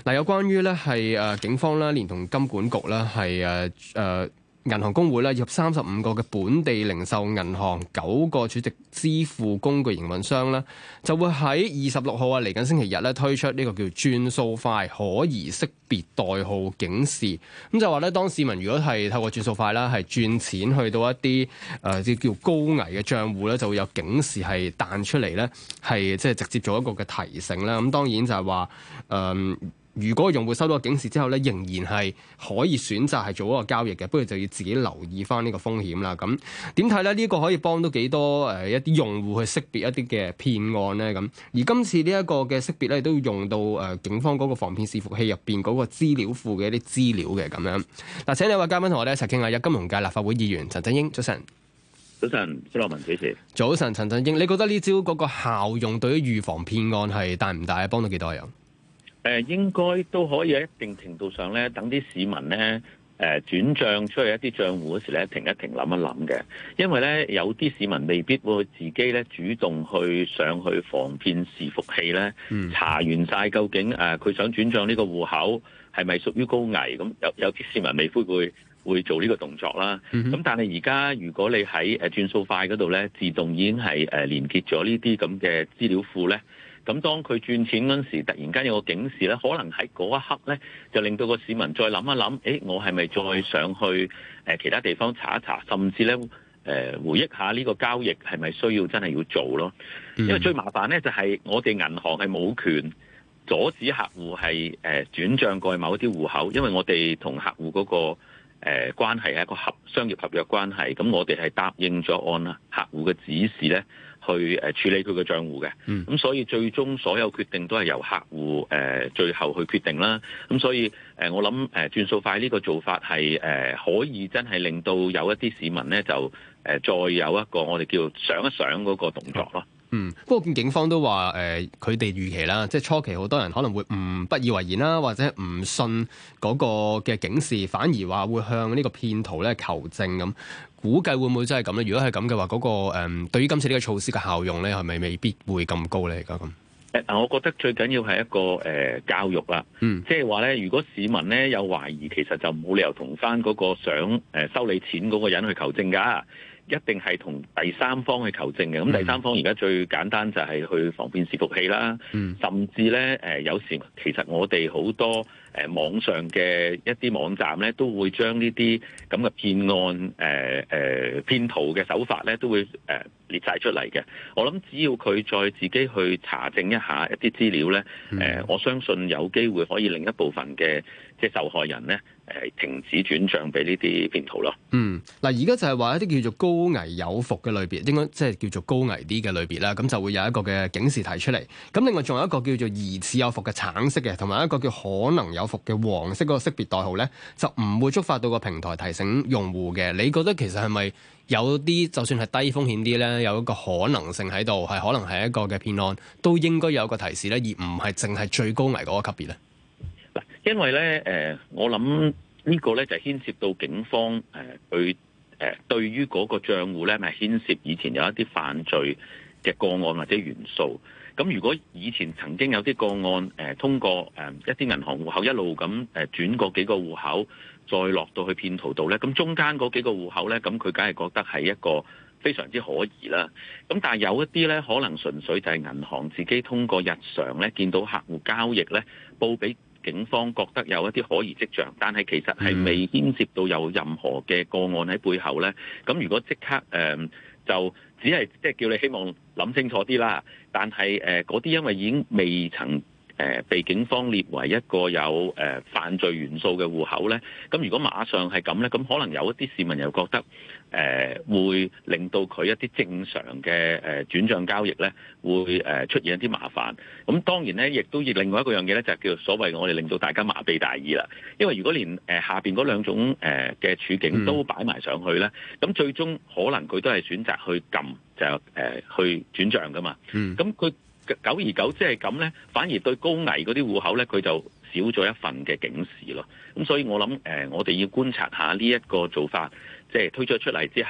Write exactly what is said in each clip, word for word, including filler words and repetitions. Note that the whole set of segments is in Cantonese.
嗱，有關於咧係誒警方啦，連同金管局啦，係誒誒銀行公會啦，以及三十五個嘅本地零售銀行、九個儲值支付工具營運商啦，就會喺二十六號啊嚟緊星期日咧推出呢個叫轉數快可疑識別代號警示。咁就話咧，當市民如果係透過轉數快啦，係轉錢去到一啲誒即叫高危嘅賬戶咧，就會有警示係彈出嚟咧，係即係直接做一個嘅提醒啦。咁當然就係話誒。如果用戶收到個警示之後咧，仍然係可以選擇係做一個交易嘅，不過就要自己留意翻呢個風險啦。咁點睇咧？呢、這個可以幫到幾多誒一啲用戶去識別一啲嘅騙案咧？咁而今次呢一個嘅識別咧，都要用到誒、呃、警方嗰個防騙視伺器入邊嗰個資料庫嘅一啲資料嘅咁樣。嗱，請兩位嘉賓同我哋一齊傾下。有金融界立法會議員陳振英，早晨。 早晨，施樂文主持。 早晨，陳振英，你覺得呢招嗰個效用對於預防騙案係大唔大啊？幫到幾多人？ 誒應該都可以喺一定程度上咧，等啲市民咧誒轉帳出去一啲帳戶嗰時咧，停一停諗一諗嘅，因為咧有啲市民未必會自己咧主動去上去防騙視伺器咧，嗯、查完晒究竟誒佢、呃、想轉帳呢個戶口係咪屬於高危，咁有有啲市民未必會會做呢個動作啦。咁、嗯、哼但係而家如果你喺誒轉數快嗰度咧，自動已經係誒連結咗呢啲咁嘅資料庫咧。咁當佢轉錢嗰陣時，突然間有個警示咧，可能喺嗰一刻咧，就令到個市民再諗一諗，誒，我係咪再上去誒其他地方查一查，甚至咧誒回憶下呢個交易係咪需要真係要做咯？因為最麻煩咧就係我哋銀行係冇權阻止客戶係誒轉帳過去某一啲戶口，因為我哋同客戶嗰個誒關係係一個合商業合約關係，咁我哋係答應咗按客戶嘅指示咧，去誒處理佢嘅帳戶嘅，咁、嗯、所以最終所有決定都係由客戶誒、呃、最後去決定啦。咁所以誒、呃、我諗誒轉數快呢個做法係誒、呃、可以真係令到有一啲市民咧就誒、呃、再有一個我哋叫想一想嗰個動作咯。 嗯，不過見警方都話誒佢哋預期啦，即係初期好多人可能會唔不以為然啦，或者唔信嗰個嘅警示，反而話會向呢個騙徒咧求證咁。估計會唔會真係咁咧？如果係咁嘅話，嗰、那個誒、嗯、對於今次呢個措施嘅效用咧，係咪未必會咁高咧？而家咁誒，我覺得最緊要係一個誒、呃、教育啦。嗯，即係話咧，如果市民咧有懷疑，其實就冇理由同翻嗰個想誒收你錢嗰個人去求證㗎。一定係同第三方去求證嘅，咁第三方而家最簡單就係去防騙視伺器啦，嗯、甚至咧誒、呃、有時其實我哋好多誒、呃、網上嘅一啲網站咧，都會將呢啲咁嘅騙案誒誒、呃呃、騙徒嘅手法咧，都會誒、呃、列晒出嚟嘅。我諗只要佢再自己去查證一下一啲資料咧，誒、嗯呃、我相信有機會可以令一部分嘅即係受害人咧。誒停止轉帳俾呢啲騙徒咯。嗯， 嗱，而家就係話一啲叫做高危有伏嘅類別，應該即係叫做高危啲嘅類別啦。咁就會有一個嘅警示提出嚟。咁另外仲有一個叫做疑似有伏嘅橙色嘅，同埋一個叫可能有伏嘅黃色嗰個識別代號咧，就唔會觸發到個平台提醒用戶嘅。你覺得其實係咪有啲就算係低風險啲咧，有一個可能性喺度，係可能係一個嘅騙案，都應該有一個提示咧，而唔係淨係最高危嗰個級別咧？ 因為咧，誒、呃，我諗呢個咧就牽涉到警方誒，佢、呃、誒對於嗰個帳戶咧，咪牽涉以前有一啲犯罪嘅個案或者元素。咁如果以前曾經有啲個案誒、呃，通過誒、呃、一啲銀行戶口一路咁誒轉過幾個戶口，再落到去騙徒度咧，咁中間嗰幾個戶口咧，咁佢梗係覺得係一個非常之可疑啦。咁但係有一啲咧，可能純粹就係銀行自己通過日常咧見到客戶交易咧，報俾警方覺得有一啲可疑跡象，但係其實係未牽涉到有任何嘅個案喺背後咧。咁如果即刻誒、呃、就只係即係叫你希望諗清楚啲啦。但係誒嗰啲因為已經未曾誒、呃、被警方列為一個有誒、呃、犯罪元素嘅戶口咧，咁如果馬上係咁咧，咁可能有一啲市民又覺得誒、呃、會令到佢一啲正常嘅誒轉帳交易咧，會誒、呃、出現一啲麻煩。咁當然咧，亦都要另外一個樣嘢咧，就係叫做所謂我哋令到大家麻痹大意啦。因為如果連誒、呃、下邊嗰兩種誒嘅處境都擺埋上去咧，咁、嗯、最終可能佢都係選擇去撳就誒、呃、去轉帳噶嘛。咁佢、嗯、久而久之係咁咧，反而對高危嗰啲戶口咧，佢就少咗一份嘅警示咯。咁所以我諗誒、呃，我哋要觀察下呢一個做法，即係推咗出嚟之後，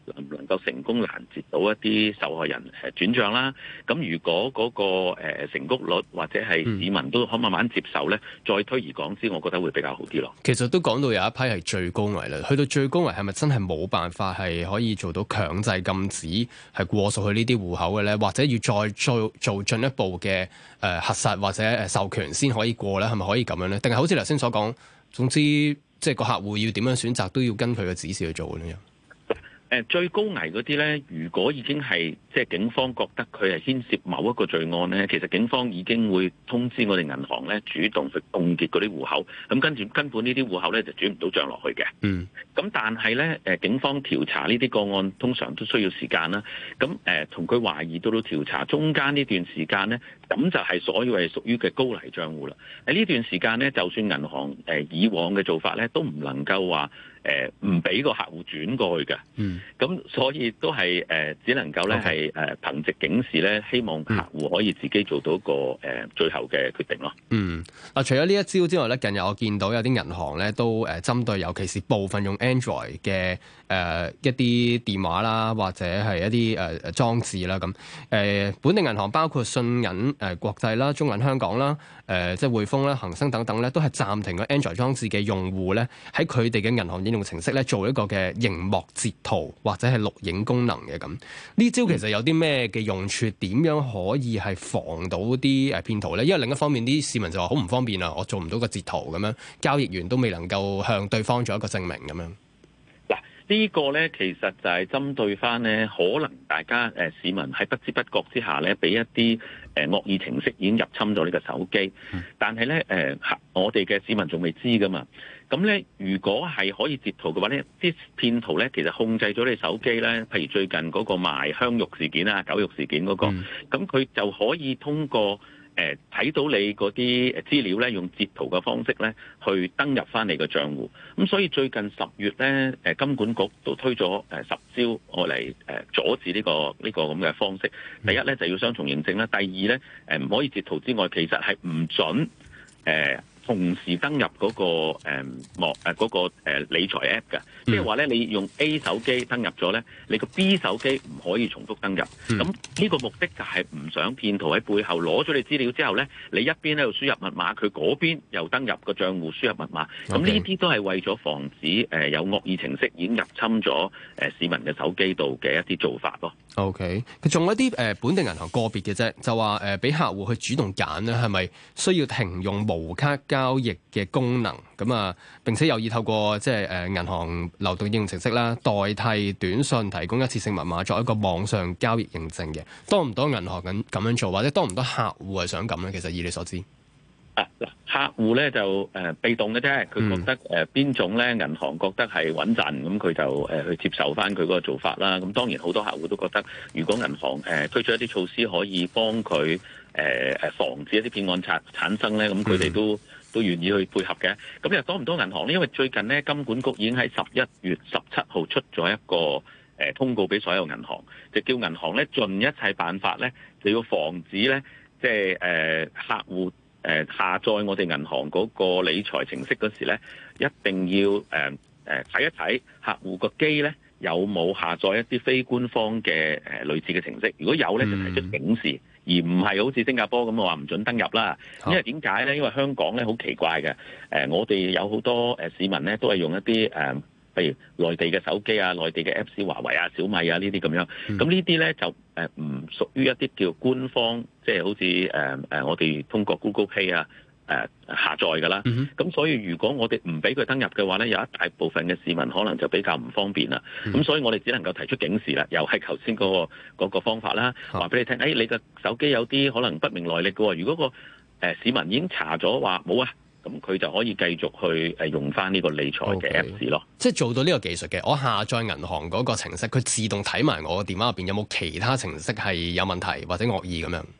能唔能夠成功攔截到一啲受害人誒轉帳啦？咁如果嗰個誒成功率或者係市民都可慢慢接受咧，再推而廣之，我覺得會比較好啲咯。 其實都講到有一批係最高危啦，去到最高危係咪真係冇辦法係可以做到強制禁止係過數去呢啲戶口嘅咧？或者要再做做進一步嘅誒、呃、核實或者誒授權先可以過咧？係咪可以咁樣咧？定係好似頭先所講，總之即係個客戶要點樣選擇都要跟佢嘅指示去做嘅咧？ 誒最高危嗰啲咧，如果已經係即係警方覺得佢係牽涉某一個罪案咧，其實警方已經會通知我哋銀行咧，主動去凍結嗰啲戶口。咁跟住根本呢啲戶口咧就轉唔到帳落去嘅。嗯。咁但係咧，誒警方調查呢啲個案通常都需要時間啦。咁誒同佢懷疑到到調查中間呢段時間咧，咁就係所謂係屬於嘅高危帳戶啦。喺呢段時間咧，就算銀行誒以往嘅做法咧，都唔能夠話誒唔俾個客戶轉過去嘅。嗯。咁所以都係誒、呃，只能夠咧係誒憑藉警示咧，希望客戶可以自己做到一個誒、呃、最後嘅決定咯。 嗯，嗱，除咗呢一招之外咧，近日我見到有啲銀行咧都誒針對，尤其是部分用 Android 嘅誒、呃、一啲電話啦，或者係一啲誒誒裝置啦，咁誒、呃、本地銀行包括信銀誒、呃、國際啦、中銀香港啦、誒、呃、即係匯豐啦、恒生等等咧，都係暫停咗 Android 裝置嘅用戶咧，喺佢哋嘅銀行應用程式咧做一個嘅螢幕截圖或者係錄影功能嘅。咁呢招其實有啲咩嘅用處？點樣可以係防到啲誒騙徒咧？因為另一方面啲市民就話好唔方便啊，我做唔到個截圖咁樣，交易員都未能夠向對方做一個證明咁樣。 嗱，呢個咧其實就係針對翻咧，可能大家誒、呃、市民喺不知不覺之下咧，俾一啲誒惡意程式已經入侵咗呢個手機，嗯、但係咧誒我哋嘅市民仲未知噶嘛。咁咧，如果係可以截圖嘅話咧，啲騙徒咧其實控制咗你手機咧，譬如最近嗰個賣香肉事件啊、狗肉事件嗰、那個，咁佢、嗯、就可以通過誒睇、呃、到你嗰啲資料咧，用截圖嘅方式咧，去登入翻你個賬戶。咁所以最近十月咧，誒金管局都推咗誒十招我嚟誒阻止呢、這個呢、這個咁嘅方式。第一咧就要雙重認證啦，第二咧誒唔可以截圖之外，其實係唔準誒。呃同時登入嗰、那個誒網誒嗰個、呃、理財 App 嘅，即係話咧，你用 A 手機登入咗咧，你個 B 手機唔可以重複登入。咁呢、嗯、個目的就係唔想騙徒喺背後攞咗你資料之後咧，你一邊喺度輸入密碼，佢嗰邊又登入個賬戶輸入密碼。咁呢啲都係為咗防止誒、呃、有惡意程式已經入侵咗誒、呃、市民嘅手機度嘅一啲做法咯。 OK，佢仲有一啲誒、呃、本地銀行個別嘅啫，就話誒俾客戶去主動揀咧，係咪需要停用無卡交易嘅功能？咁啊，並且有意透過即係誒銀行流動應用程式啦，代替短信提供一次性密碼作一個網上交易認證嘅，多唔多銀行咁咁樣做，或者多唔多客戶係想咁咧？其實以你所知。 啊嗱，客戶咧就誒、呃、被動嘅啫，佢覺得誒邊、呃、種咧銀行覺得係穩陣，咁佢就誒、呃、去接受翻佢嗰個做法啦。咁當然好多客戶都覺得，如果銀行誒、呃、推出一啲措施可以幫佢誒誒防止一啲騙案產產生咧，咁佢哋都都願意去配合嘅。咁又多唔多銀行咧？因為最近咧金管局已經喺十一月十七號出咗一個誒、呃、通告俾所有銀行，就叫銀行咧盡一切辦法咧，就要防止咧即係誒客戶。誒下載我哋銀行嗰個理財程式嗰時咧，一定要誒誒睇一睇客戶個機咧有冇下載一啲非官方嘅誒、呃、類似嘅程式。如果有咧，就提出警示，而唔係好似新加坡咁話唔准登入啦。因為點解咧？因為香港咧好奇怪嘅，誒、呃、我哋有好多誒市民咧都係用一啲誒。呃譬如內地嘅手機啊、內地嘅 Apps，華為啊、小米啊呢啲咁樣，咁呢啲咧就誒唔屬於一啲叫官方，即係好似誒誒我哋通過 Google Play 啊誒、呃、下載㗎啦。咁、嗯、哼所以如果我哋唔俾佢登入嘅話咧，有一大部分嘅市民可能就比較唔方便啦。咁、嗯、所以我哋只能夠提出警示啦，又係頭先嗰個嗰個方法啦，話俾你聽，誒、哎、你嘅手機有啲可能不明來歷嘅喎，如果個誒市民已經查咗話冇啊。咁佢就可以繼續去誒用翻呢個理財嘅 Apps 咯，即係做到呢個技術嘅。我下載銀行嗰個程式，佢自動睇埋我個電話入邊有冇其他程式係有問題或者惡意咁樣。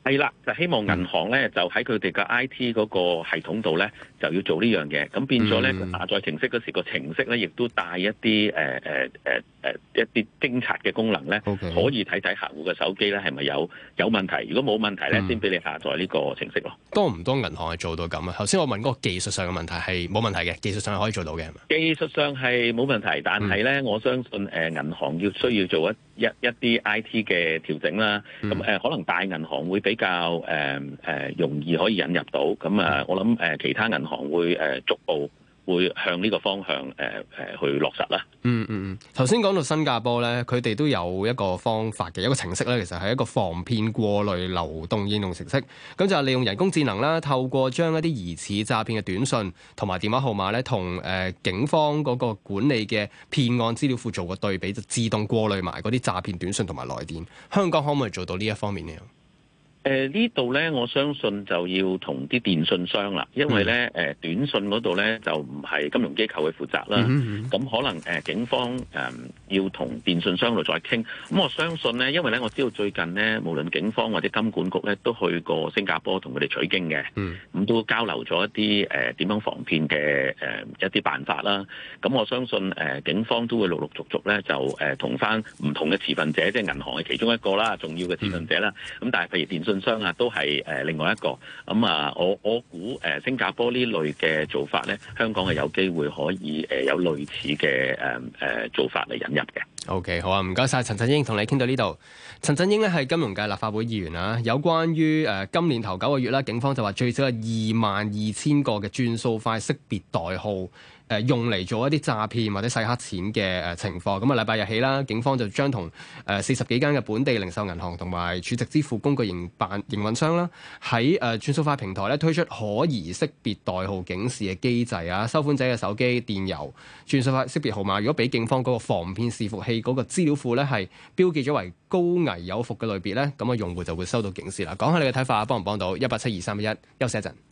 係啦，就希望銀行咧就喺佢哋嘅 I T 嗰個系統度咧就要做呢樣嘢，咁變咗咧佢下載程式嗰時個程式咧亦都帶一啲誒誒誒誒一啲偵察嘅功能咧，Okay. 可以睇睇客戶嘅手機咧係咪有有問題，如果冇問題咧，先俾、嗯、你下載呢個程式咯。多唔多銀行係做到咁啊？頭先我問嗰個技術上嘅問題係冇問題嘅，技術上係可以做到嘅係嘛？ 技術上係冇問題，但係咧、嗯、我相信誒銀行要需要做一一一啲 I T 嘅調整啦。咁誒、嗯呃、可能大銀行會比較誒誒、呃呃、容易可以引入到。咁啊、呃，我諗誒、呃、其他銀行會誒、呃、逐步會向呢個方向誒誒、呃、去落實啦。 嗯嗯嗯，頭先講到新加坡咧，佢哋都有一個方法嘅，一個程式咧，其實係一個防騙過濾流動應用程式。咁就係利用人工智能啦，透過將一啲疑似詐騙嘅短訊同埋電話號碼咧，同誒、呃、警方嗰個管理嘅騙案資料庫做個對比，就自動過濾埋嗰啲詐騙短訊同埋來電。香港可唔可以做到呢一方面呢？ 誒、呃、呢度咧，我相信就要同啲電信商啦，因為咧誒、呃、短信嗰度咧就唔係金融機構去負責啦，咁、嗯嗯、可能誒、呃、警方誒、呃、要同電信商度再傾。咁我相信咧，因為咧我知道最近咧，無論警方或者金管局咧都去過新加坡同佢哋取經嘅，咁、嗯、都交流咗一啲誒點樣防騙嘅誒、呃、一啲辦法啦。咁我相信誒、呃、警方都會陸陸續續咧就誒同翻唔同嘅持份者，即係銀行係其中一個啦，重要嘅持份者啦。咁、嗯、但係譬如電信商啊，都係誒另外一個咁啊、嗯！我我估誒新加坡呢類嘅做法咧，香港係有機會可以誒有類似嘅誒誒做法嚟引入嘅。 OK， 好啊，唔該晒。陳振英，同你傾到呢度。陳振英咧係金融界立法會議員啊，有關於誒、呃、今年頭九個月啦，警方就話最少有二萬二千個嘅轉數快識別代號。誒用嚟做一啲詐騙或者洗黑錢嘅誒情況，咁啊禮拜日起啦，警方就將同誒四十幾間嘅本地零售銀行同埋儲值支付工具營辦營運商啦，喺誒轉數快平台咧推出可疑識別代號警示嘅機制啊，收款者嘅手機、電郵、轉數快識別號碼，如果俾警方嗰個防騙伺服器嗰個資料庫咧係標記咗為高危有伏嘅類別咧，咁啊用戶就會收到警示啦。講下你嘅睇法，幫唔幫到？一八七二三一一，休息一陣。